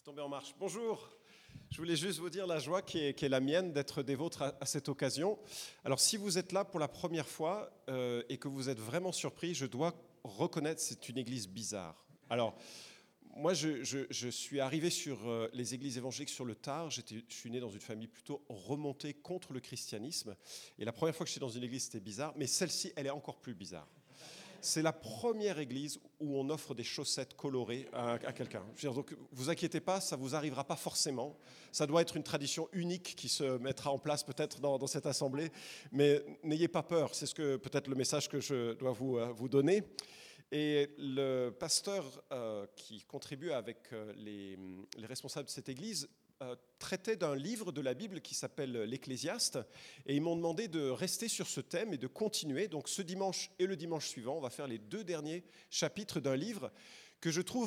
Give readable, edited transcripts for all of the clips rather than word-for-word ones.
C'est tombé en marche. Bonjour, je voulais juste vous dire la joie qui est la mienne d'être des vôtres à cette occasion. Alors si vous êtes là pour la première fois et que vous êtes vraiment surpris, je dois reconnaître que c'est une église bizarre. Alors moi je suis arrivé sur les églises évangéliques sur le tard, je suis né dans une famille plutôt remontée contre le christianisme et la première fois que j'étais dans une église c'était bizarre, mais celle-ci elle est encore plus bizarre. C'est la première église où on offre des chaussettes colorées à quelqu'un. Donc, vous inquiétez pas, ça vous arrivera pas forcément. Ça doit être une tradition unique qui se mettra en place peut-être dans cette assemblée. Mais n'ayez pas peur, c'est peut-être le message que je dois vous donner. Et le pasteur qui contribue avec les responsables de cette église traitait d'un livre de la Bible qui s'appelle l'Ecclésiaste et ils m'ont demandé de rester sur ce thème et de continuer. Donc ce dimanche et le dimanche suivant, on va faire les 2 derniers chapitres d'un livre que je trouve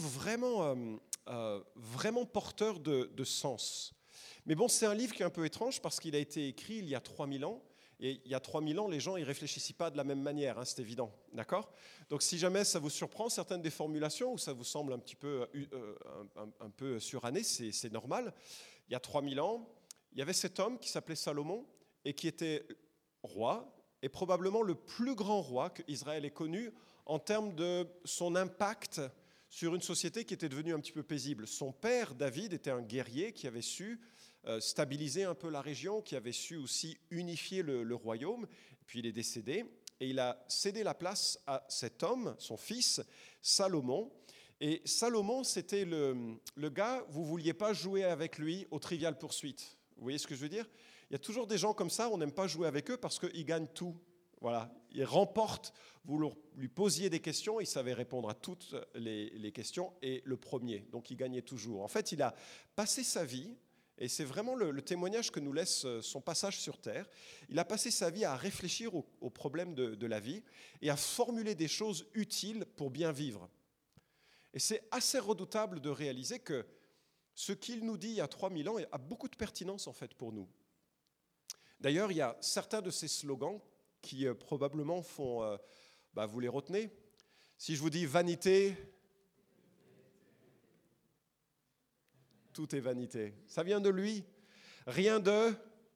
vraiment porteur de sens. Mais bon, c'est un livre qui est un peu étrange parce qu'il a été écrit il y a 3000 ans. Et il y a 3000 ans, les gens ne réfléchissaient pas de la même manière, c'est évident, d'accord ? Donc si jamais ça vous surprend, certaines des formulations, ou ça vous semble un petit peu, un peu suranné, c'est normal. Il y a 3000 ans, il y avait cet homme qui s'appelait Salomon, et qui était roi, et probablement le plus grand roi qu'Israël ait connu, en termes de son impact sur une société qui était devenue un petit peu paisible. Son père, David, était un guerrier qui avait su stabiliser un peu la région, qui avait su aussi unifier le royaume. Puis il est décédé et il a cédé la place à cet homme, son fils, Salomon. Et Salomon, c'était le gars, vous ne vouliez pas jouer avec lui au Trivial Pursuit. Vous voyez ce que je veux dire ? Il y a toujours des gens comme ça, on n'aime pas jouer avec eux parce qu'ils gagnent tout. Voilà, ils remportent, vous lui posiez des questions, il savait répondre à toutes les questions, et le premier, donc il gagnait toujours. En fait, il a passé sa vie, et c'est vraiment le témoignage que nous laisse son passage sur Terre, il a passé sa vie à réfléchir aux problèmes de la vie, et à formuler des choses utiles pour bien vivre. Et c'est assez redoutable de réaliser que ce qu'il nous dit il y a 3000 ans a beaucoup de pertinence en fait pour nous. D'ailleurs, il y a certains de ces slogans qui probablement font, vous les retenez. Si je vous dis vanité, tout est vanité. Ça vient de lui. Rien de...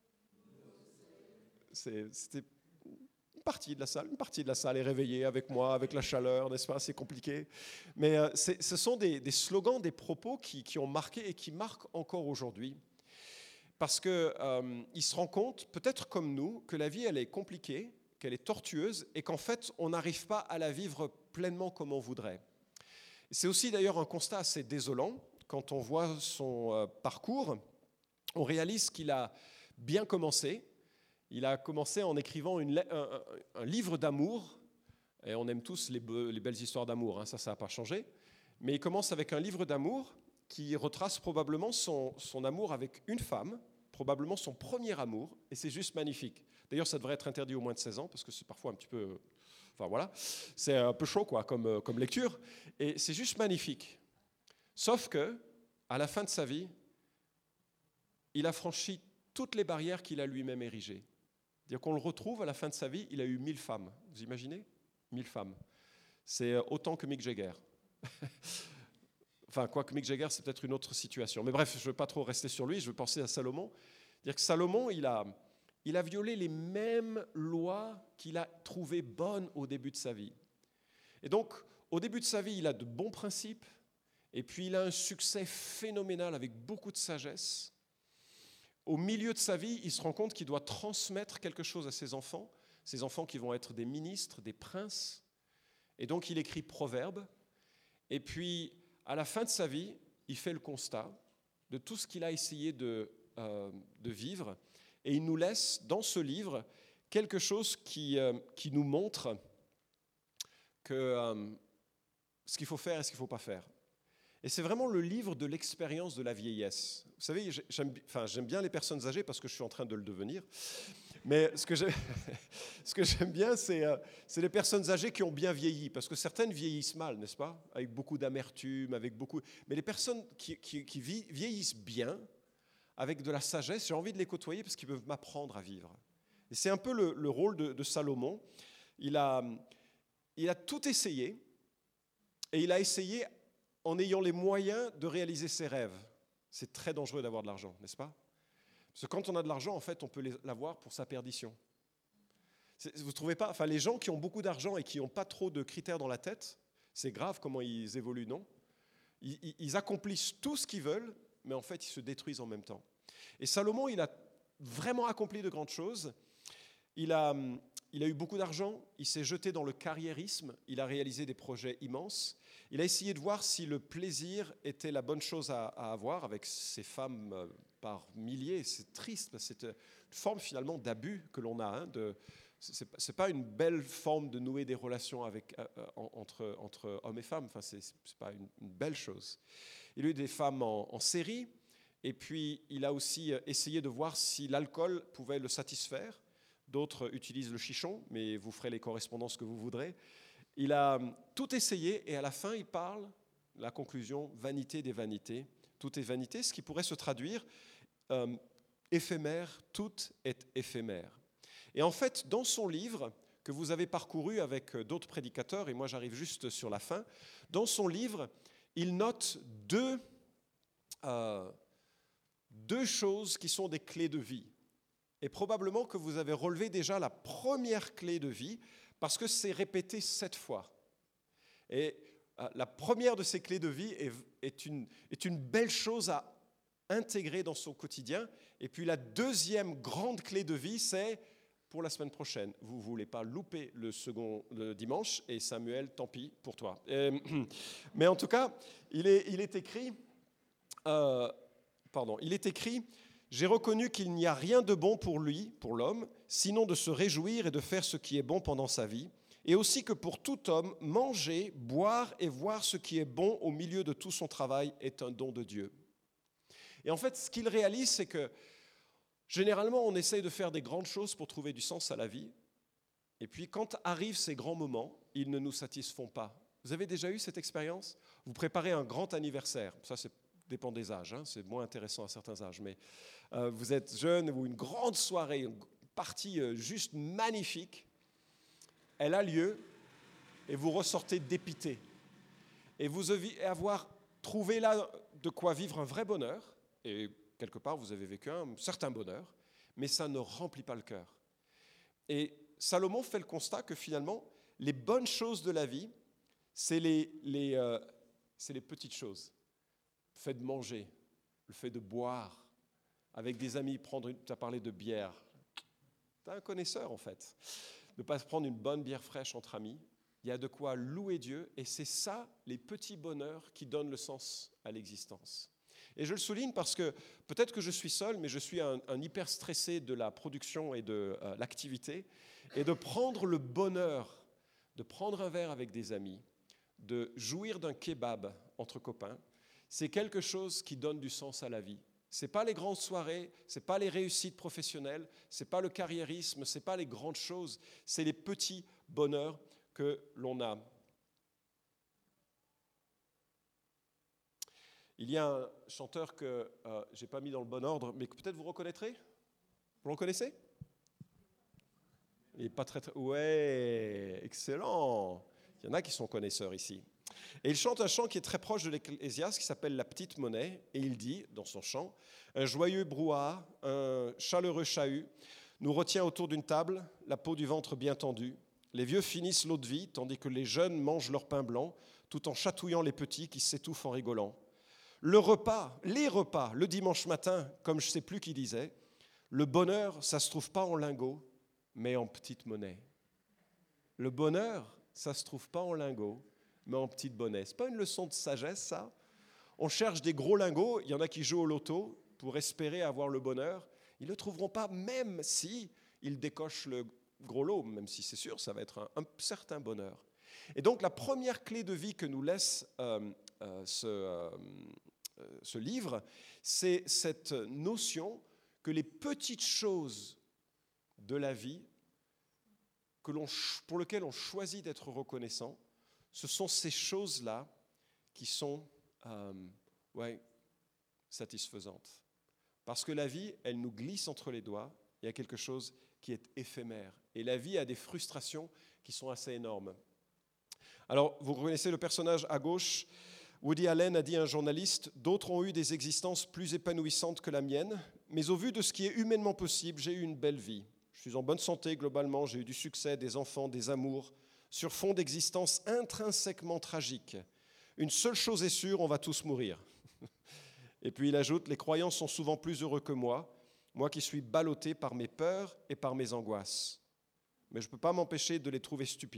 C'était une partie de la salle. Une partie de la salle est réveillée avec moi, avec la chaleur, n'est-ce pas ? C'est compliqué. Mais ce sont des slogans, des propos qui ont marqué et qui marquent encore aujourd'hui. Parce qu'il se rend compte, peut-être comme nous, que la vie, elle est compliquée, qu'elle est tortueuse et qu'en fait, on n'arrive pas à la vivre pleinement comme on voudrait. C'est aussi d'ailleurs un constat assez désolant. Quand on voit son parcours, on réalise qu'il a bien commencé. Il a commencé en écrivant un livre d'amour, et on aime tous les belles histoires d'amour, ça n'a pas changé. Mais il commence avec un livre d'amour qui retrace probablement son amour avec une femme, probablement son premier amour, et c'est juste magnifique. D'ailleurs, ça devrait être interdit aux moins de 16 ans, parce que c'est parfois un petit peu... Enfin voilà, c'est un peu chaud quoi, comme lecture, et c'est juste magnifique. Sauf que, à la fin de sa vie, il a franchi toutes les barrières qu'il a lui-même érigées. C'est-à-dire qu'on le retrouve à la fin de sa vie, il a eu 1000 femmes. Vous imaginez ? 1000 femmes. C'est autant que Mick Jagger. Enfin, quoique Mick Jagger, c'est peut-être une autre situation. Mais bref, je ne veux pas trop rester sur lui, je veux penser à Salomon. C'est-à-dire que Salomon, il a violé les mêmes lois qu'il a trouvées bonnes au début de sa vie. Et donc, au début de sa vie, il a de bons principes, et puis il a un succès phénoménal avec beaucoup de sagesse. Au milieu de sa vie, il se rend compte qu'il doit transmettre quelque chose à ses enfants qui vont être des ministres, des princes. Et donc, il écrit Proverbes. Et puis, à la fin de sa vie, il fait le constat de tout ce qu'il a essayé de vivre. Et il nous laisse, dans ce livre, quelque chose qui nous montre que ce qu'il faut faire et ce qu'il ne faut pas faire. Et c'est vraiment le livre de l'expérience de la vieillesse. Vous savez, j'aime bien les personnes âgées parce que je suis en train de le devenir. Mais ce que j'aime bien, c'est les personnes âgées qui ont bien vieilli. Parce que certaines vieillissent mal, n'est-ce pas ? Avec beaucoup d'amertume, Mais les personnes qui vieillissent bien, avec de la sagesse, j'ai envie de les côtoyer parce qu'ils peuvent m'apprendre à vivre. Et c'est un peu le rôle de Salomon. Il a tout essayé, et il a essayé en ayant les moyens de réaliser ses rêves. C'est très dangereux d'avoir de l'argent, n'est-ce pas? Parce que quand on a de l'argent, en fait, on peut l'avoir pour sa perdition. Vous ne trouvez pas? Enfin, les gens qui ont beaucoup d'argent et qui n'ont pas trop de critères dans la tête, c'est grave comment ils évoluent, non? Ils accomplissent tout ce qu'ils veulent, mais en fait, ils se détruisent en même temps. Et Salomon, il a vraiment accompli de grandes choses. Il a eu beaucoup d'argent, il s'est jeté dans le carriérisme, il a réalisé des projets immenses. Il a essayé de voir si le plaisir était la bonne chose à avoir avec ses femmes par milliers. C'est triste, parce que c'est une forme finalement d'abus que l'on a. Ce n'est pas une belle forme de nouer des relations entre hommes et femmes. Enfin, ce n'est pas une belle chose. Il a eu des femmes en série, et puis il a aussi essayé de voir si l'alcool pouvait le satisfaire. D'autres utilisent le chichon, mais vous ferez les correspondances que vous voudrez. Il a tout essayé, et à la fin, il parle, la conclusion, vanité des vanités. Tout est vanité, ce qui pourrait se traduire éphémère, tout est éphémère. Et en fait, dans son livre, que vous avez parcouru avec d'autres prédicateurs, et moi j'arrive juste sur la fin, dans son livre, il note deux choses qui sont des clés de vie. Et probablement que vous avez relevé déjà la première clé de vie, parce que c'est répété 7 fois. Et la première de ces clés de vie est une belle chose à intégrer dans son quotidien. Et puis la deuxième grande clé de vie, c'est pour la semaine prochaine. Vous ne voulez pas louper le dimanche, et Samuel, tant pis pour toi. Mais en tout cas, il est écrit, j'ai reconnu qu'il n'y a rien de bon pour lui, pour l'homme, sinon de se réjouir et de faire ce qui est bon pendant sa vie, et aussi que pour tout homme, manger, boire et voir ce qui est bon au milieu de tout son travail est un don de Dieu. Et en fait, ce qu'il réalise, c'est que généralement, on essaye de faire des grandes choses pour trouver du sens à la vie, et puis quand arrivent ces grands moments, ils ne nous satisfont pas. Vous avez déjà eu cette expérience? Vous préparez un grand anniversaire, ça dépend des âges, c'est moins intéressant à certains âges, mais vous êtes jeune ou une grande soirée, une partie juste magnifique, elle a lieu et vous ressortez dépité. Et vous devez avoir trouvé là de quoi vivre un vrai bonheur, et quelque part vous avez vécu un certain bonheur, mais ça ne remplit pas le cœur. Et Salomon fait le constat que finalement, les bonnes choses de la vie, c'est les petites choses. Le fait de manger, le fait de boire, avec des amis, tu as parlé de bière. Tu es un connaisseur en fait. Ne pas se prendre une bonne bière fraîche entre amis. Il y a de quoi louer Dieu, et c'est ça, les petits bonheurs qui donnent le sens à l'existence. Et je le souligne parce que peut-être que je suis seul, mais je suis un hyper stressé de la production et de l'activité, et de prendre le bonheur, de prendre un verre avec des amis, de jouir d'un kebab entre copains, c'est quelque chose qui donne du sens à la vie. Ce n'est pas les grandes soirées, ce n'est pas les réussites professionnelles, ce n'est pas le carriérisme, ce n'est pas les grandes choses, c'est les petits bonheurs que l'on a. Il y a un chanteur que je n'ai pas mis dans le bon ordre, mais que peut-être vous reconnaîtrez. Vous le connaissez? Il n'est pas très... Ouais, excellent. Il y en a qui sont connaisseurs ici. Et il chante un chant qui est très proche de l'Ecclésiaste, qui s'appelle La Petite Monnaie, et il dit, dans son chant, « Un joyeux brouhaha, un chaleureux chahut nous retient autour d'une table, la peau du ventre bien tendue. Les vieux finissent l'eau de vie, tandis que les jeunes mangent leur pain blanc, tout en chatouillant les petits qui s'étouffent en rigolant. Les repas, le dimanche matin, comme je ne sais plus qui disait, le bonheur, ça ne se trouve pas en lingots, mais en petite monnaie. Le bonheur, ça ne se trouve pas en lingots, mais en petite monnaie. Ce n'est pas une leçon de sagesse, ça? On cherche des gros lingots, il y en a qui jouent au loto pour espérer avoir le bonheur. Ils ne le trouveront pas, même si ils décochent le gros lot, même si c'est sûr, ça va être un certain bonheur. Et donc la première clé de vie que nous laisse ce livre, c'est cette notion que les petites choses de la vie pour lesquelles on choisit d'être reconnaissant, ce sont ces choses-là qui sont satisfaisantes. Parce que la vie, elle nous glisse entre les doigts, il y a quelque chose qui est éphémère. Et la vie a des frustrations qui sont assez énormes. Alors, vous connaissez le personnage à gauche, Woody Allen a dit à un journaliste « D'autres ont eu des existences plus épanouissantes que la mienne, mais au vu de ce qui est humainement possible, j'ai eu une belle vie. Je suis en bonne santé globalement, j'ai eu du succès, des enfants, des amours, sur fond d'existence intrinsèquement tragique. Une seule chose est sûre, on va tous mourir. » Et puis il ajoute « Les croyants sont souvent plus heureux que moi qui suis ballotté par mes peurs et par mes angoisses. Mais je ne peux pas m'empêcher de les trouver stupides. »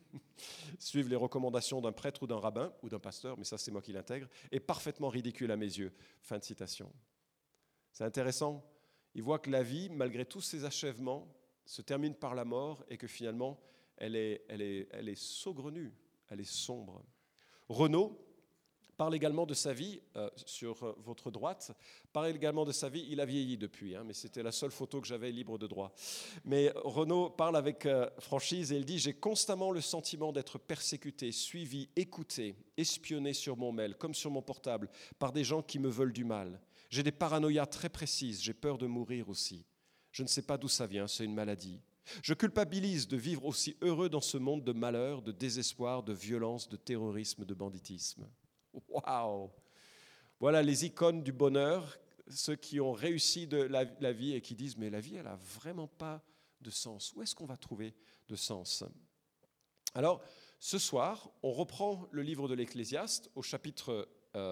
Suivre les recommandations d'un prêtre ou d'un rabbin, ou d'un pasteur, mais ça c'est moi qui l'intègre, est parfaitement ridicule à mes yeux. Fin de citation. C'est intéressant. Il voit que la vie, malgré tous ses achèvements, se termine par la mort et que finalement, elle est saugrenue, elle est sombre. Renaud parle également de sa vie, sur votre droite, parle également de sa vie, il a vieilli depuis, mais c'était la seule photo que j'avais libre de droit. Mais Renaud parle avec franchise et il dit « J'ai constamment le sentiment d'être persécuté, suivi, écouté, espionné sur mon mail, comme sur mon portable, par des gens qui me veulent du mal. J'ai des paranoïas très précises, j'ai peur de mourir aussi. Je ne sais pas d'où ça vient, c'est une maladie. Je culpabilise de vivre aussi heureux dans ce monde de malheur, de désespoir, de violence, de terrorisme, de banditisme. » Waouh! Voilà les icônes du bonheur, ceux qui ont réussi de la vie et qui disent « Mais la vie, elle n'a vraiment pas de sens. Où est-ce qu'on va trouver de sens ?» Alors, ce soir, on reprend le livre de l'Ecclésiaste au chapitre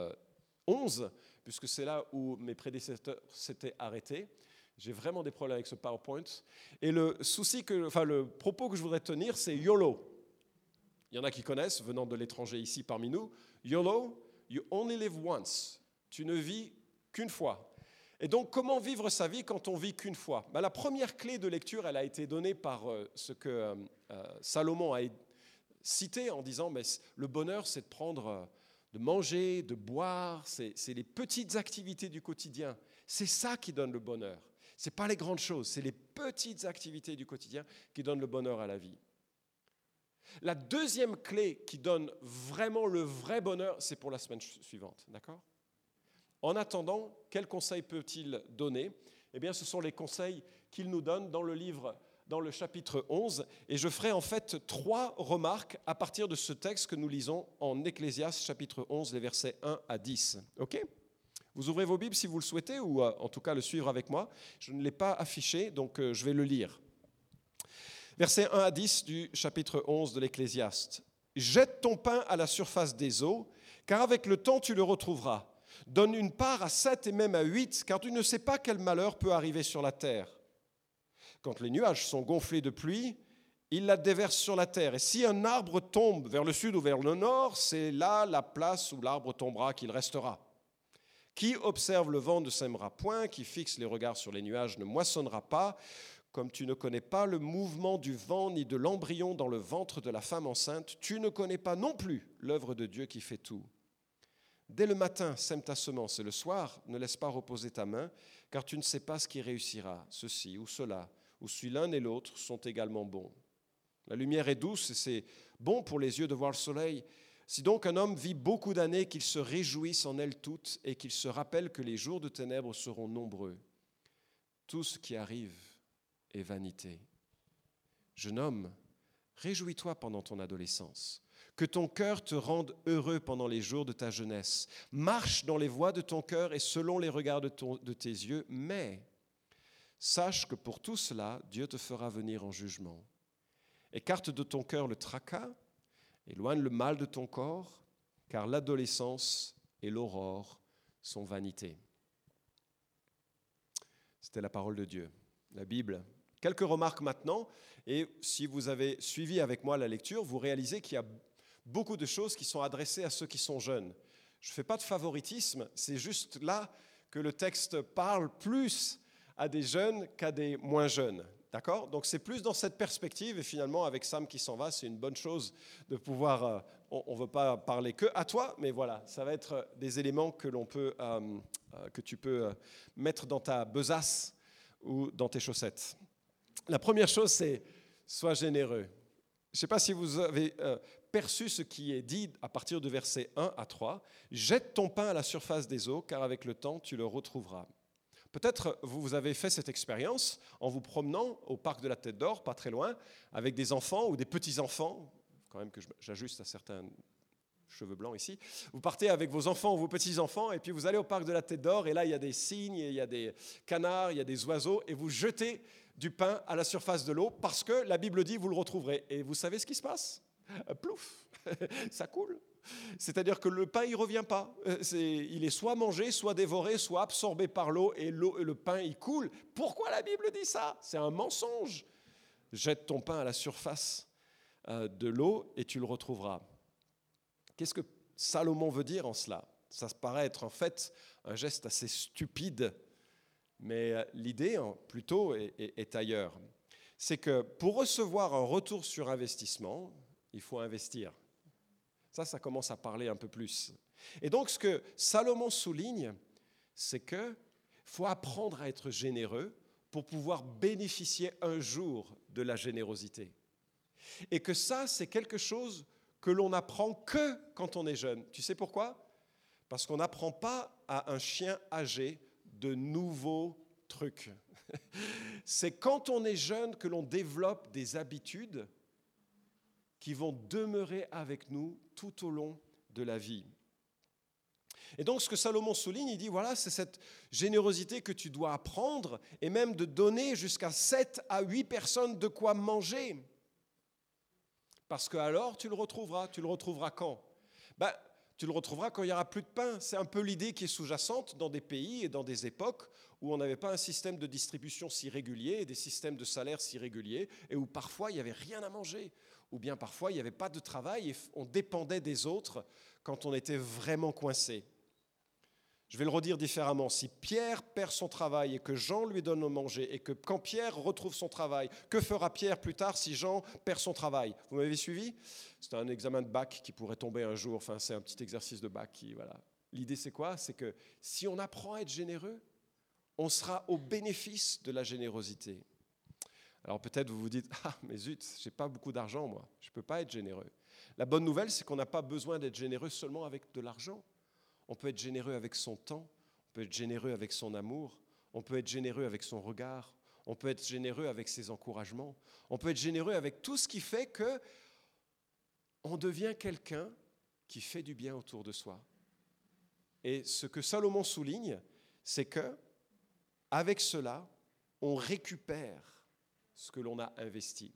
11, puisque c'est là où mes prédécesseurs s'étaient arrêtés. J'ai vraiment des problèmes avec ce PowerPoint. Et le propos que je voudrais tenir, c'est YOLO. Il y en a qui connaissent, venant de l'étranger ici parmi nous. YOLO, you only live once. Tu ne vis qu'une fois. Et donc, comment vivre sa vie quand on vit qu'une fois ? La première clé de lecture, elle a été donnée par ce que Salomon a cité en disant mais le bonheur, c'est de manger, de boire, c'est les petites activités du quotidien. C'est ça qui donne le bonheur. Ce n'est pas les grandes choses, c'est les petites activités du quotidien qui donnent le bonheur à la vie. La deuxième clé qui donne vraiment le vrai bonheur, c'est pour la semaine suivante, d'accord ? En attendant, quels conseils peut-il donner ? Eh bien, ce sont les conseils qu'il nous donne dans le livre, dans le chapitre 11, et je ferai en fait 3 remarques à partir de ce texte que nous lisons en Ecclésiaste, chapitre 11, les versets 1 à 10. Ok ? Vous ouvrez vos Bibles si vous le souhaitez, ou en tout cas le suivre avec moi. Je ne l'ai pas affiché, donc je vais le lire. Versets 1 à 10 du chapitre 11 de l'Ecclésiaste. « Jette ton pain à la surface des eaux, car avec le temps tu le retrouveras. Donne une part à 7 et même à 8, car tu ne sais pas quel malheur peut arriver sur la terre. Quand les nuages sont gonflés de pluie, ils la déversent sur la terre. Et si un arbre tombe vers le sud ou vers le nord, c'est là la place où l'arbre tombera qu'il restera. Qui observe le vent ne sèmera point, qui fixe les regards sur les nuages ne moissonnera pas. Comme tu ne connais pas le mouvement du vent ni de l'embryon dans le ventre de la femme enceinte, tu ne connais pas non plus l'œuvre de Dieu qui fait tout. Dès le matin, sème ta semence, et le soir, ne laisse pas reposer ta main, car tu ne sais pas ce qui réussira, ceci ou cela, ou si l'un et l'autre sont également bons. La lumière est douce, et c'est bon pour les yeux de voir le soleil. Si donc un homme vit beaucoup d'années, qu'il se réjouisse en elles toutes, et qu'il se rappelle que les jours de ténèbres seront nombreux. Tout ce qui arrive est vanité. Jeune homme, réjouis-toi pendant ton adolescence. Que ton cœur te rende heureux pendant les jours de ta jeunesse. Marche dans les voies de ton cœur et selon les regards de tes yeux, mais sache que pour tout cela, Dieu te fera venir en jugement. Écarte de ton cœur le tracas, éloigne le mal de ton corps, car l'adolescence et l'aurore sont vanité. C'était la parole de Dieu, la Bible. Quelques remarques maintenant, et si vous avez suivi avec moi la lecture, vous réalisez qu'il y a beaucoup de choses qui sont adressées à ceux qui sont jeunes. Je ne fais pas de favoritisme, c'est juste là que le texte parle plus à des jeunes qu'à des moins jeunes. D'accord ? Donc c'est plus dans cette perspective, et finalement avec Sam qui s'en va, c'est une bonne chose de pouvoir, on ne veut pas parler que à toi, mais voilà, ça va être des éléments que tu peux mettre dans ta besace ou dans tes chaussettes. La première chose, c'est sois généreux. Je ne sais pas si vous avez perçu ce qui est dit à partir du verset 1 à 3. Jette ton pain à la surface des eaux, car avec le temps, tu le retrouveras. Peut-être vous avez fait cette expérience en vous promenant au parc de la Tête d'Or, pas très loin, avec des enfants ou des petits-enfants, quand même que j'ajuste à certaines cheveux blancs ici, vous partez avec vos enfants ou vos petits-enfants et puis vous allez au parc de la Tête d'Or et là il y a des cygnes, il y a des canards, il y a des oiseaux et vous jetez du pain à la surface de l'eau parce que la Bible dit vous le retrouverez. Et vous savez ce qui se passe ? Plouf, ça coule. C'est-à-dire que le pain, il ne revient pas. Il est soit mangé, soit dévoré, soit absorbé par l'eau et le pain, il coule. Pourquoi la Bible dit ça ? C'est un mensonge. Jette ton pain à la surface de l'eau et tu le retrouveras. Qu'est-ce que Salomon veut dire en cela ? Ça paraît être en fait un geste assez stupide, mais l'idée plutôt est ailleurs. C'est que pour recevoir un retour sur investissement, il faut investir. Ça commence à parler un peu plus. Et donc, ce que Salomon souligne, c'est qu'il faut apprendre à être généreux pour pouvoir bénéficier un jour de la générosité. Et que ça, c'est quelque chose que l'on n'apprend que quand on est jeune. Tu sais pourquoi ? Parce qu'on n'apprend pas à un chien âgé de nouveaux trucs. C'est quand on est jeune que l'on développe des habitudes qui vont demeurer avec nous tout au long de la vie. Et donc, ce que Salomon souligne, il dit, voilà, c'est cette générosité que tu dois apprendre et même de donner jusqu'à 7 à 8 personnes de quoi manger. Parce que alors, tu le retrouveras. Tu le retrouveras quand ? Tu le retrouveras quand il n'y aura plus de pain. C'est un peu l'idée qui est sous-jacente dans des pays et dans des époques où on n'avait pas un système de distribution si régulier et des systèmes de salaire si réguliers et où parfois il n'y avait rien à manger. Ou bien parfois il n'y avait pas de travail et on dépendait des autres quand on était vraiment coincé. Je vais le redire différemment. Si Pierre perd son travail et que Jean lui donne à manger et que quand Pierre retrouve son travail, que fera Pierre plus tard si Jean perd son travail ? Vous m'avez suivi ? C'est un examen de bac qui pourrait tomber un jour. Enfin, c'est un petit exercice de bac. Voilà. L'idée, c'est quoi ? C'est que si on apprend à être généreux, on sera au bénéfice de la générosité. Alors peut-être vous vous dites, mais zut, je n'ai pas beaucoup d'argent moi, je ne peux pas être généreux. La bonne nouvelle, c'est qu'on n'a pas besoin d'être généreux seulement avec de l'argent. On peut être généreux avec son temps, on peut être généreux avec son amour, on peut être généreux avec son regard, on peut être généreux avec ses encouragements, on peut être généreux avec tout ce qui fait qu'on devient quelqu'un qui fait du bien autour de soi. Et ce que Salomon souligne, c'est que avec cela, on récupère ce que l'on a investi.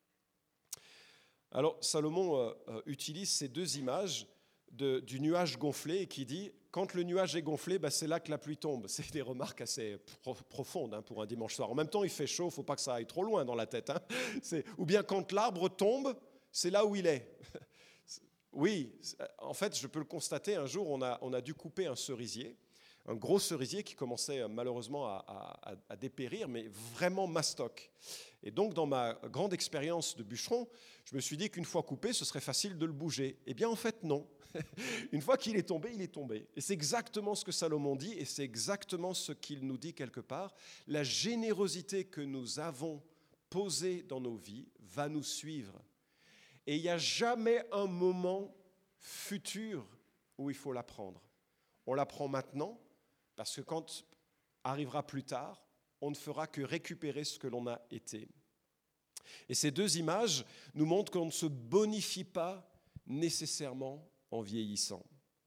Alors, Salomon utilise ces deux images du nuage gonflé et qui dit, quand le nuage est gonflé, c'est là que la pluie tombe. C'est des remarques assez profondes pour un dimanche soir. En même temps, il fait chaud, il ne faut pas que ça aille trop loin dans la tête. Ou bien quand l'arbre tombe, c'est là où il est. Oui, en fait, je peux le constater, un jour, on a dû couper un cerisier, un gros cerisier qui commençait malheureusement à dépérir, mais vraiment mastoc. Et donc, dans ma grande expérience de bûcheron, je me suis dit qu'une fois coupé, ce serait facile de le bouger. Eh bien, en fait, non. Une fois qu'il est tombé, il est tombé. Et c'est exactement ce que Salomon dit, et c'est exactement ce qu'il nous dit quelque part. La générosité que nous avons posée dans nos vies va nous suivre. Et il n'y a jamais un moment futur où il faut la prendre. On la prend maintenant, parce que quand arrivera plus tard, on ne fera que récupérer ce que l'on a été. Et ces deux images nous montrent qu'on ne se bonifie pas nécessairement en vieillissant.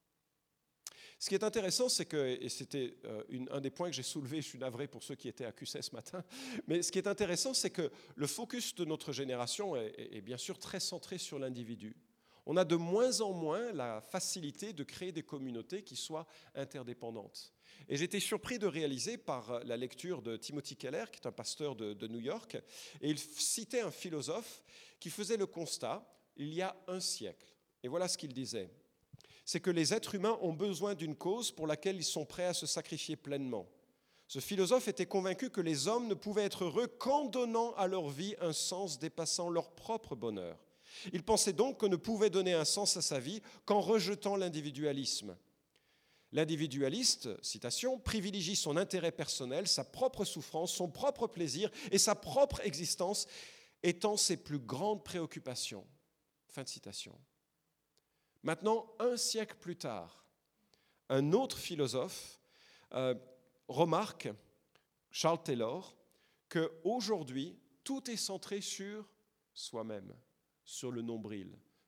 Ce qui est intéressant, c'est que, et c'était un des points que j'ai soulevé, je suis navré pour ceux qui étaient à QC ce matin, mais ce qui est intéressant, c'est que le focus de notre génération est bien sûr très centré sur l'individu. On a de moins en moins la facilité de créer des communautés qui soient interdépendantes. Et j'ai été surpris de réaliser par la lecture de Timothy Keller, qui est un pasteur de New York, et il citait un philosophe qui faisait le constat, il y a un siècle. Et voilà ce qu'il disait. C'est que les êtres humains ont besoin d'une cause pour laquelle ils sont prêts à se sacrifier pleinement. Ce philosophe était convaincu que les hommes ne pouvaient être heureux qu'en donnant à leur vie un sens dépassant leur propre bonheur. Il pensait donc qu'on ne pouvait donner un sens à sa vie qu'en rejetant l'individualisme. L'individualiste, citation, privilégie son intérêt personnel, sa propre souffrance, son propre plaisir et sa propre existence étant ses plus grandes préoccupations. Fin de citation. Maintenant, un siècle plus tard, un autre philosophe remarque, Charles Taylor, qu'aujourd'hui, tout est centré sur soi-même, sur le nombril,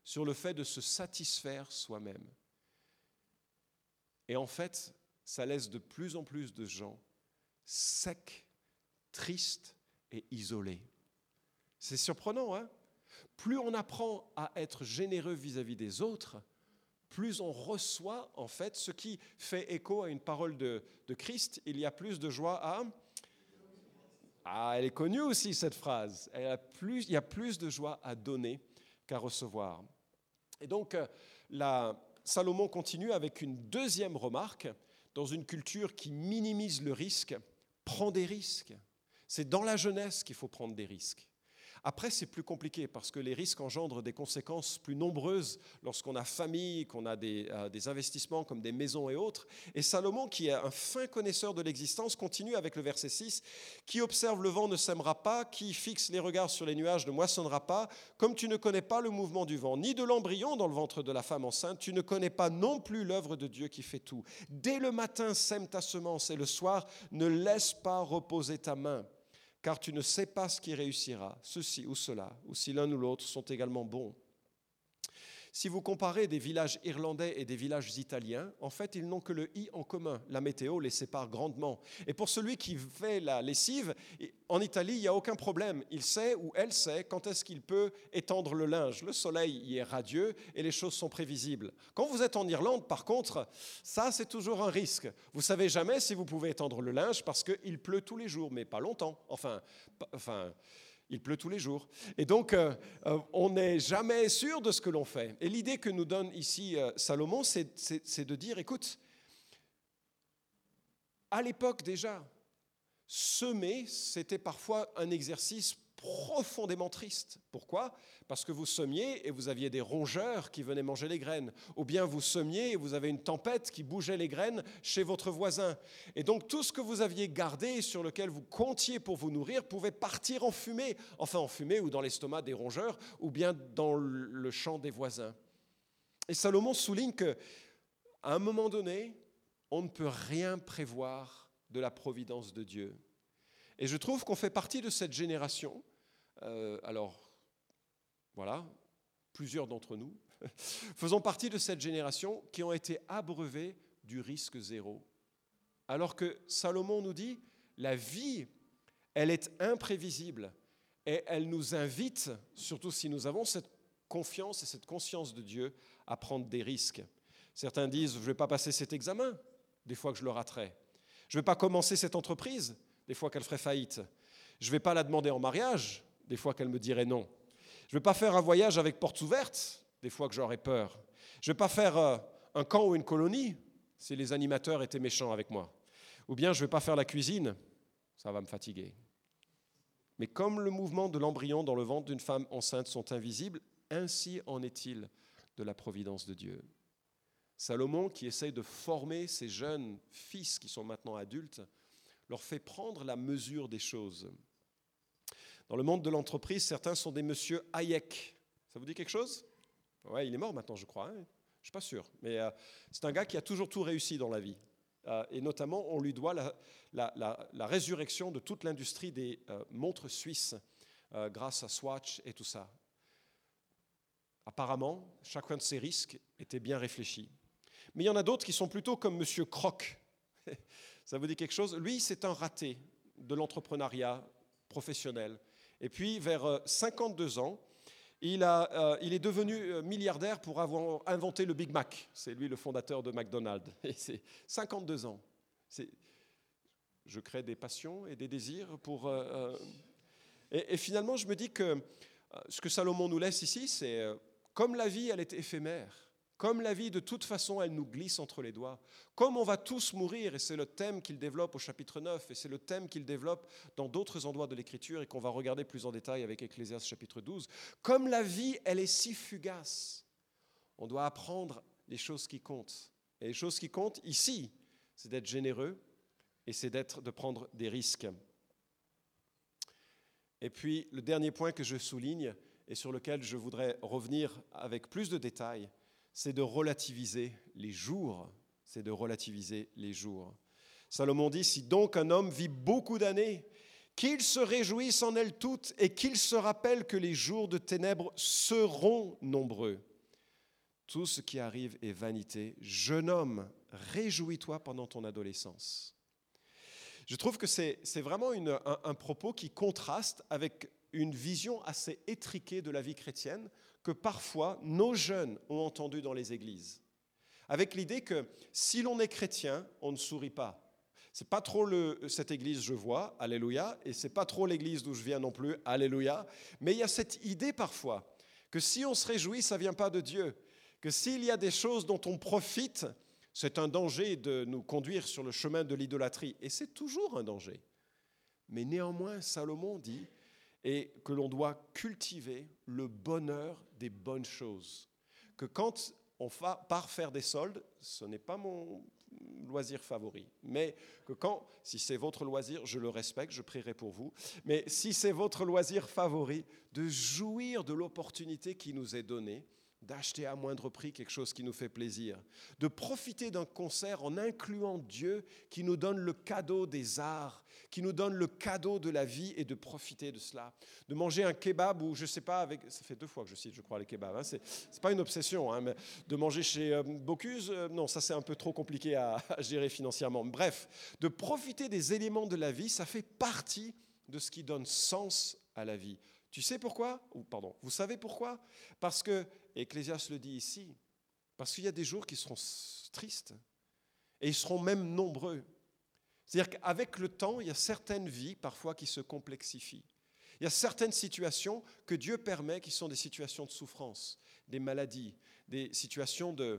sur le fait de se satisfaire soi-même. Et en fait, ça laisse de plus en plus de gens secs, tristes et isolés. C'est surprenant, hein? Plus on apprend à être généreux vis-à-vis des autres, plus on reçoit en fait ce qui fait écho à une parole de Christ. Il y a plus de joie à... Ah, elle est connue aussi cette phrase. Il y a plus de joie à donner qu'à recevoir. Et donc, Salomon continue avec une deuxième remarque. Dans une culture qui minimise le risque, prends des risques. C'est dans la jeunesse qu'il faut prendre des risques. Après, c'est plus compliqué parce que les risques engendrent des conséquences plus nombreuses lorsqu'on a famille, qu'on a des investissements comme des maisons et autres. Et Salomon, qui est un fin connaisseur de l'existence, continue avec le verset 6. « Qui observe le vent ne sèmera pas, qui fixe les regards sur les nuages ne moissonnera pas. Comme tu ne connais pas le mouvement du vent, ni de l'embryon dans le ventre de la femme enceinte, tu ne connais pas non plus l'œuvre de Dieu qui fait tout. Dès le matin, sème ta semence et le soir, ne laisse pas reposer ta main. Car tu ne sais pas ce qui réussira, ceci ou cela, ou si l'un ou l'autre sont également bons. » Si vous comparez des villages irlandais et des villages italiens, en fait, ils n'ont que le « i » en commun. La météo les sépare grandement. Et pour celui qui fait la lessive, en Italie, il n'y a aucun problème. Il sait ou elle sait quand est-ce qu'il peut étendre le linge. Le soleil y est radieux et les choses sont prévisibles. Quand vous êtes en Irlande, par contre, ça, c'est toujours un risque. Vous ne savez jamais si vous pouvez étendre le linge parce qu'il pleut tous les jours, mais pas longtemps. Enfin, il pleut tous les jours. Et donc, on n'est jamais sûr de ce que l'on fait. Et l'idée que nous donne ici Salomon, c'est de dire, écoute, à l'époque déjà, semer, c'était parfois un exercice profondément triste. Pourquoi ? Parce que vous semiez et vous aviez des rongeurs qui venaient manger les graines. Ou bien vous semiez et vous avez une tempête qui bougeait les graines chez votre voisin. Et donc tout ce que vous aviez gardé et sur lequel vous comptiez pour vous nourrir pouvait partir en fumée. Enfin en fumée ou dans l'estomac des rongeurs ou bien dans le champ des voisins. Et Salomon souligne qu'à un moment donné, on ne peut rien prévoir de la providence de Dieu. Et je trouve qu'on fait partie de cette génération. Alors, voilà, plusieurs d'entre nous faisons partie de cette génération qui ont été abreuvés du risque zéro. Alors que Salomon nous dit, la vie, elle est imprévisible et elle nous invite, surtout si nous avons cette confiance et cette conscience de Dieu, à prendre des risques. Certains disent, je ne vais pas passer cet examen, des fois que je le raterai. Je ne vais pas commencer cette entreprise, des fois qu'elle ferait faillite. Je ne vais pas la demander en mariage, des fois qu'elle me dirait non. Je ne vais pas faire un voyage avec portes ouvertes, des fois que j'aurais peur. Je ne vais pas faire un camp ou une colonie, si les animateurs étaient méchants avec moi. Ou bien je ne vais pas faire la cuisine, ça va me fatiguer. Mais comme le mouvement de l'embryon dans le ventre d'une femme enceinte sont invisibles, ainsi en est-il de la providence de Dieu. Salomon, qui essaye de former ses jeunes fils qui sont maintenant adultes, leur fait prendre la mesure des choses. Dans le monde de l'entreprise, certains sont des monsieur Hayek. Ça vous dit quelque chose ? Ouais, il est mort maintenant, je crois. Je ne suis pas sûr. Mais c'est un gars qui a toujours tout réussi dans la vie. Et notamment, on lui doit la résurrection de toute l'industrie des montres suisses grâce à Swatch et tout ça. Apparemment, chacun de ces risques était bien réfléchi. Mais il y en a d'autres qui sont plutôt comme monsieur Kroc. Ça vous dit quelque chose ? Lui, c'est un raté de l'entrepreneuriat professionnel. Et puis, vers 52 ans, il est devenu milliardaire pour avoir inventé le Big Mac. C'est lui le fondateur de McDonald's. Et c'est 52 ans. Je crée des passions et des désirs pour... Et finalement, je me dis que ce que Salomon nous laisse ici, c'est comme la vie, elle est éphémère. Comme la vie, de toute façon, elle nous glisse entre les doigts. Comme on va tous mourir, et c'est le thème qu'il développe au chapitre 9, et c'est le thème qu'il développe dans d'autres endroits de l'Écriture, et qu'on va regarder plus en détail avec Ecclésiaste chapitre 12. Comme la vie, elle est si fugace, on doit apprendre les choses qui comptent. Et les choses qui comptent, ici, c'est d'être généreux, et c'est de prendre des risques. Et puis, le dernier point que je souligne, et sur lequel je voudrais revenir avec plus de détails, c'est de relativiser les jours. C'est de relativiser les jours. Salomon dit, si donc un homme vit beaucoup d'années, qu'il se réjouisse en elles toutes et qu'il se rappelle que les jours de ténèbres seront nombreux. Tout ce qui arrive est vanité. Jeune homme, réjouis-toi pendant ton adolescence. Je trouve que c'est vraiment un propos qui contraste avec une vision assez étriquée de la vie chrétienne que parfois nos jeunes ont entendue dans les églises. Avec l'idée que si l'on est chrétien, on ne sourit pas. C'est pas trop cette église je vois, alléluia, et c'est pas trop l'église d'où je viens non plus, alléluia. Mais il y a cette idée parfois que si on se réjouit, ça vient pas de Dieu. Que s'il y a des choses dont on profite, c'est un danger de nous conduire sur le chemin de l'idolâtrie. Et c'est toujours un danger. Mais néanmoins, Salomon dit et que l'on doit cultiver le bonheur des bonnes choses. Que quand on part faire des soldes, ce n'est pas mon loisir favori, mais que si c'est votre loisir, je le respecte, je prierai pour vous, mais si c'est votre loisir favori, de jouir de l'opportunité qui nous est donnée, d'acheter à moindre prix quelque chose qui nous fait plaisir, de profiter d'un concert en incluant Dieu qui nous donne le cadeau des arts, qui nous donne le cadeau de la vie et de profiter de cela, de manger un kebab ou je ne sais pas, ça fait 2 fois que je cite, je crois, les kebabs, hein, c'est pas une obsession, hein, mais de manger chez Bocuse, non, ça c'est un peu trop compliqué à gérer financièrement. Bref, de profiter des éléments de la vie, ça fait partie de ce qui donne sens à la vie. Tu sais pourquoi ? Vous savez pourquoi ? Parce que, Ecclésiaste le dit ici, parce qu'il y a des jours qui seront tristes et ils seront même nombreux. C'est-à-dire qu'avec le temps, il y a certaines vies parfois qui se complexifient. Il y a certaines situations que Dieu permet qui sont des situations de souffrance, des maladies, des situations de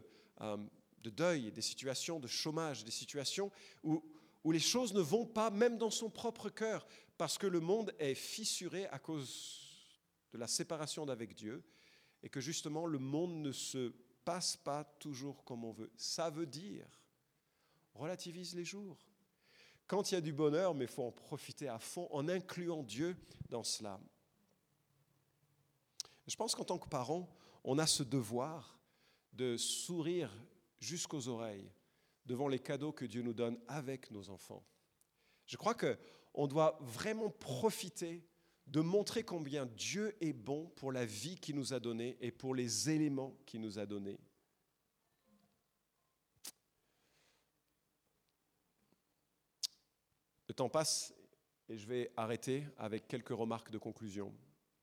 deuil, des situations de chômage, des situations où les choses ne vont pas, même dans son propre cœur, parce que le monde est fissuré à cause de la séparation d'avec Dieu et que justement le monde ne se passe pas toujours comme on veut. Ça veut dire, relativise les jours. Quand il y a du bonheur, mais il faut en profiter à fond en incluant Dieu dans cela. Je pense qu'en tant que parents, on a ce devoir de sourire jusqu'aux oreilles devant les cadeaux que Dieu nous donne avec nos enfants. Je crois qu'on doit vraiment profiter de montrer combien Dieu est bon pour la vie qu'il nous a donnée et pour les éléments qu'il nous a donnés. Le temps passe et je vais arrêter avec quelques remarques de conclusion.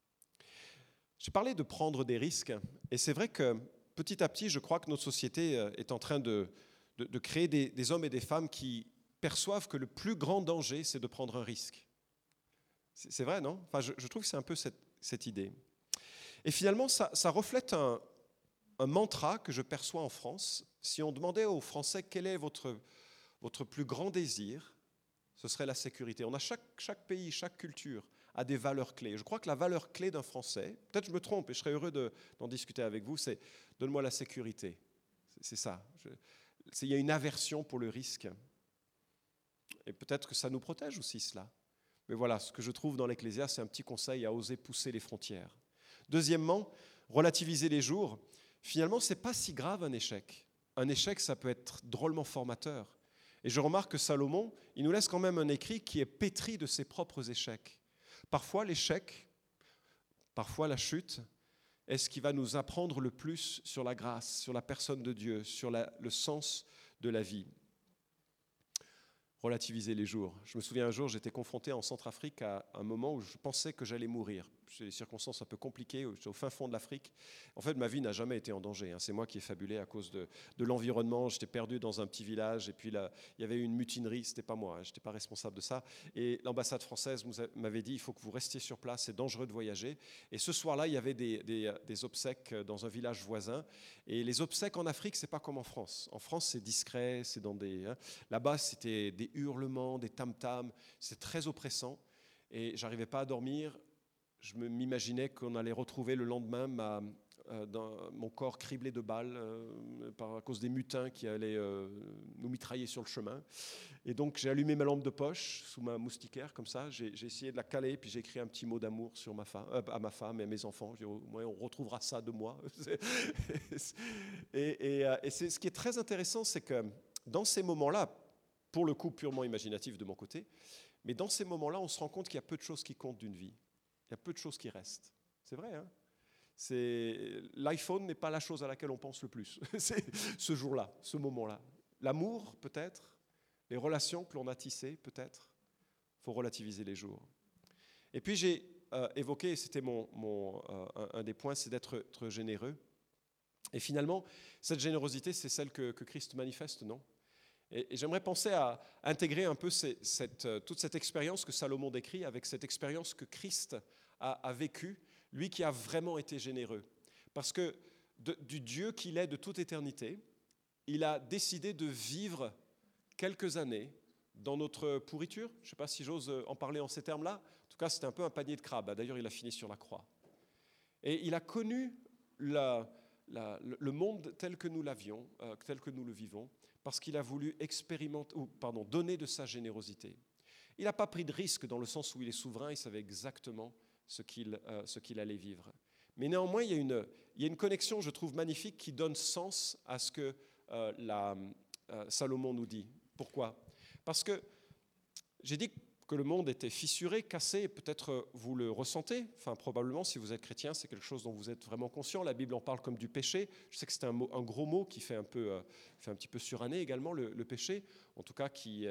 J'ai parlé de prendre des risques et c'est vrai que petit à petit, je crois que notre société est en train de créer des hommes et des femmes qui perçoivent que le plus grand danger, c'est de prendre un risque. C'est vrai, non ? Enfin, je trouve que c'est un peu cette idée. Et finalement, ça reflète un mantra que je perçois en France. Si on demandait aux Français quel est votre plus grand désir, ce serait la sécurité. On a chaque pays, chaque culture a des valeurs clés. Je crois que la valeur clé d'un Français, peut-être je me trompe et je serais heureux d'en discuter avec vous, c'est « donne-moi la sécurité ». C'est ça. Il y a une aversion pour le risque. Et peut-être que ça nous protège aussi, cela. Mais voilà, ce que je trouve dans l'Ecclésiaste, c'est un petit conseil à oser pousser les frontières. Deuxièmement, relativiser les jours. Finalement, ce n'est pas si grave un échec. Un échec, ça peut être drôlement formateur. Et je remarque que Salomon, il nous laisse quand même un écrit qui est pétri de ses propres échecs. Parfois, l'échec, parfois la chute, est ce qui va nous apprendre le plus sur la grâce, sur la personne de Dieu, sur le sens de la vie. Relativiser les jours. Je me souviens un jour, j'étais confronté en Centrafrique à un moment où je pensais que j'allais mourir. C'est des circonstances un peu compliquées, j'étais au fin fond de l'Afrique. En fait, ma vie n'a jamais été en danger. C'est moi qui ai fabulé à cause de l'environnement. J'étais perdu dans un petit village et puis là, il y avait eu une mutinerie. C'était pas moi, je n'étais pas responsable de ça. Et l'ambassade française m'avait dit, il faut que vous restiez sur place, c'est dangereux de voyager. Et ce soir-là, il y avait des obsèques dans un village voisin. Et les obsèques en Afrique, c'est pas comme en France. En France, c'est discret, c'est dans là-bas, c'était des hurlements, des tam-tams. C'est très oppressant. Et j'arrivais pas à dormir. Je m'imaginais qu'on allait retrouver le lendemain mon corps criblé de balles à cause des mutins qui allaient nous mitrailler sur le chemin. Et donc j'ai allumé ma lampe de poche sous ma moustiquaire, comme ça. J'ai essayé de la caler, puis j'ai écrit un petit mot d'amour sur à ma femme et à mes enfants. J'ai dit, au moins on retrouvera ça de moi. et ce qui est très intéressant, c'est que dans ces moments-là, pour le coup purement imaginatif de mon côté, mais dans ces moments-là, on se rend compte qu'il y a peu de choses qui comptent d'une vie. Il y a peu de choses qui restent. C'est vrai, hein ? L'iPhone n'est pas la chose à laquelle on pense le plus. C'est ce jour-là, ce moment-là. L'amour, peut-être. Les relations que l'on a tissées, peut-être. Il faut relativiser les jours. Et puis j'ai évoqué, c'était un des points, c'est d'être généreux. Et finalement, cette générosité, c'est celle que Christ manifeste, non ? Et j'aimerais penser à intégrer un peu toute cette expérience que Salomon décrit avec cette expérience que Christ a vécue, lui qui a vraiment été généreux. Parce que du Dieu qu'il est de toute éternité, il a décidé de vivre quelques années dans notre pourriture. Je ne sais pas si j'ose en parler en ces termes-là. En tout cas, c'était un peu un panier de crabes. D'ailleurs, il a fini sur la croix. Et il a connu le monde tel que nous l'avions, tel que nous le vivons, parce qu'il a voulu donner de sa générosité. Il n'a pas pris de risque dans le sens où il est souverain, il savait exactement ce qu'il allait vivre. Mais néanmoins, il y a une connexion, je trouve, magnifique qui donne sens à ce que Salomon nous dit. Pourquoi ? Parce que j'ai dit que le monde était fissuré, cassé, et peut-être vous le ressentez, enfin probablement si vous êtes chrétien, c'est quelque chose dont vous êtes vraiment conscient. La Bible en parle comme du péché. Je sais que c'est un gros mot qui fait un petit peu suranné également, le péché, en tout cas qui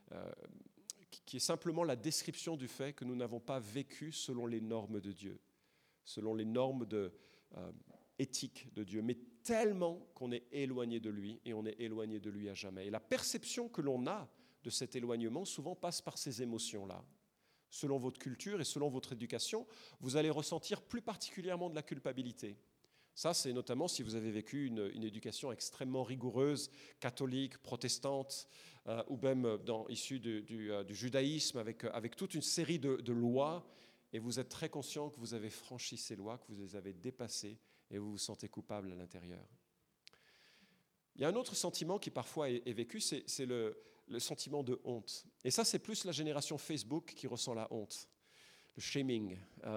est simplement la description du fait que nous n'avons pas vécu selon les normes de Dieu, selon les normes éthiques de Dieu, mais tellement qu'on est éloigné de lui, et on est éloigné de lui à jamais. Et la perception que l'on a de cet éloignement souvent passe par ces émotions-là. Selon votre culture et selon votre éducation, vous allez ressentir plus particulièrement de la culpabilité. Ça, c'est notamment si vous avez vécu une éducation extrêmement rigoureuse, catholique, protestante, ou même issue du judaïsme, avec toute une série de lois, et vous êtes très conscient que vous avez franchi ces lois, que vous les avez dépassées, et vous vous sentez coupable à l'intérieur. Il y a un autre sentiment qui parfois est vécu, c'est le sentiment de honte. Et ça, c'est plus la génération Facebook qui ressent la honte, le shaming,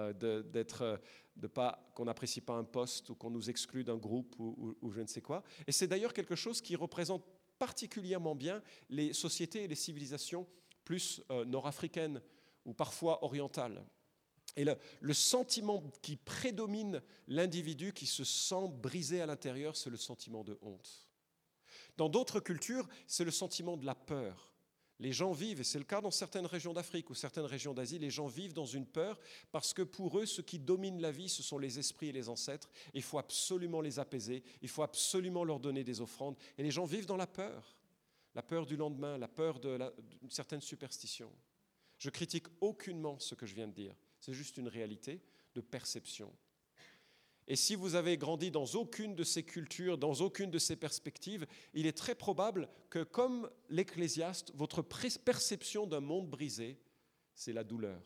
qu'on n'apprécie pas un post ou qu'on nous exclut d'un groupe ou je ne sais quoi. Et c'est d'ailleurs quelque chose qui représente particulièrement bien les sociétés et les civilisations plus nord-africaines ou parfois orientales. Et le sentiment qui prédomine l'individu qui se sent brisé à l'intérieur, c'est le sentiment de honte. Dans d'autres cultures, c'est le sentiment de la peur. Les gens vivent, et c'est le cas dans certaines régions d'Afrique ou certaines régions d'Asie, les gens vivent dans une peur parce que pour eux, ce qui domine la vie, ce sont les esprits et les ancêtres. Il faut absolument les apaiser, il faut absolument leur donner des offrandes. Et les gens vivent dans la peur du lendemain, la peur d'une certaine superstition. Je critique aucunement ce que je viens de dire, c'est juste une réalité de perception. Et si vous avez grandi dans aucune de ces cultures, dans aucune de ces perspectives, il est très probable que, comme l'Ecclésiaste, votre perception d'un monde brisé, c'est la douleur.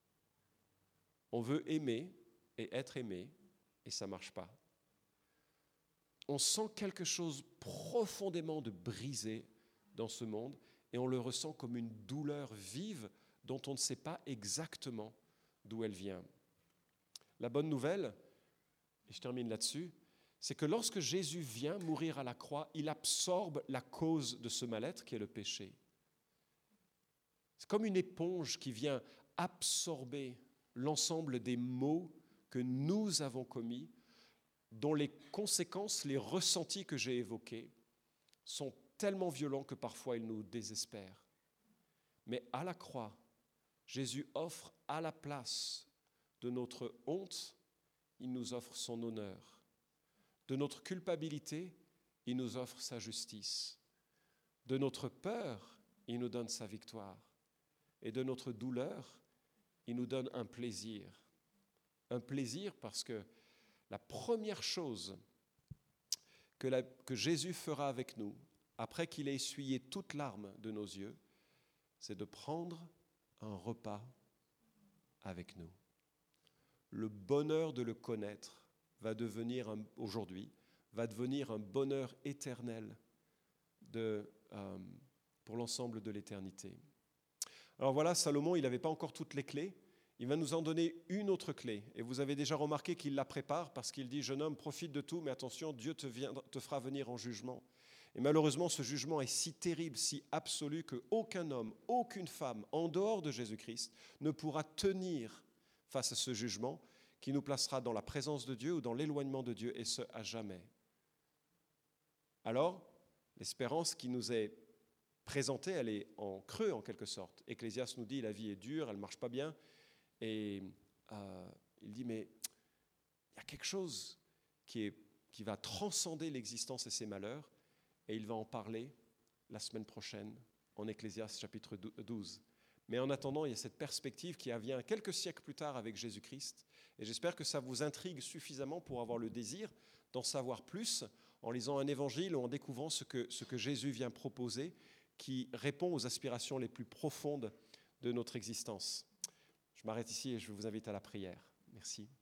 On veut aimer et être aimé, et ça ne marche pas. On sent quelque chose profondément de brisé dans ce monde, et on le ressent comme une douleur vive dont on ne sait pas exactement d'où elle vient. La bonne nouvelle, et je termine là-dessus, c'est que lorsque Jésus vient mourir à la croix, il absorbe la cause de ce mal-être qui est le péché. C'est comme une éponge qui vient absorber l'ensemble des maux que nous avons commis, dont les conséquences, les ressentis que j'ai évoqués, sont tellement violents que parfois ils nous désespèrent. Mais à la croix, Jésus offre à la place de notre honte, il nous offre son honneur. De notre culpabilité, il nous offre sa justice. De notre peur, il nous donne sa victoire. Et de notre douleur, il nous donne un plaisir. Un plaisir parce que la première chose que Jésus fera avec nous, après qu'il ait essuyé toute larme de nos yeux, c'est de prendre un repas avec nous. Le bonheur de le connaître aujourd'hui va devenir un bonheur éternel pour l'ensemble de l'éternité. Alors voilà, Salomon, il n'avait pas encore toutes les clés. Il va nous en donner une autre clé. Et vous avez déjà remarqué qu'il la prépare parce qu'il dit « Jeune homme, profite de tout, mais attention, Dieu te fera venir en jugement. » Et malheureusement, ce jugement est si terrible, si absolu, qu'aucun homme, aucune femme, en dehors de Jésus-Christ, ne pourra tenir face à ce jugement qui nous placera dans la présence de Dieu ou dans l'éloignement de Dieu, et ce, à jamais. Alors, l'espérance qui nous est présentée, elle est en creux en quelque sorte. Ecclésiaste nous dit, la vie est dure, elle ne marche pas bien, et il dit, mais il y a quelque chose qui va transcender l'existence et ses malheurs, et il va en parler la semaine prochaine en Ecclésiaste chapitre 12. Mais en attendant, il y a cette perspective qui vient quelques siècles plus tard avec Jésus-Christ, et j'espère que ça vous intrigue suffisamment pour avoir le désir d'en savoir plus en lisant un évangile ou en découvrant ce que Jésus vient proposer, qui répond aux aspirations les plus profondes de notre existence. Je m'arrête ici et je vous invite à la prière. Merci.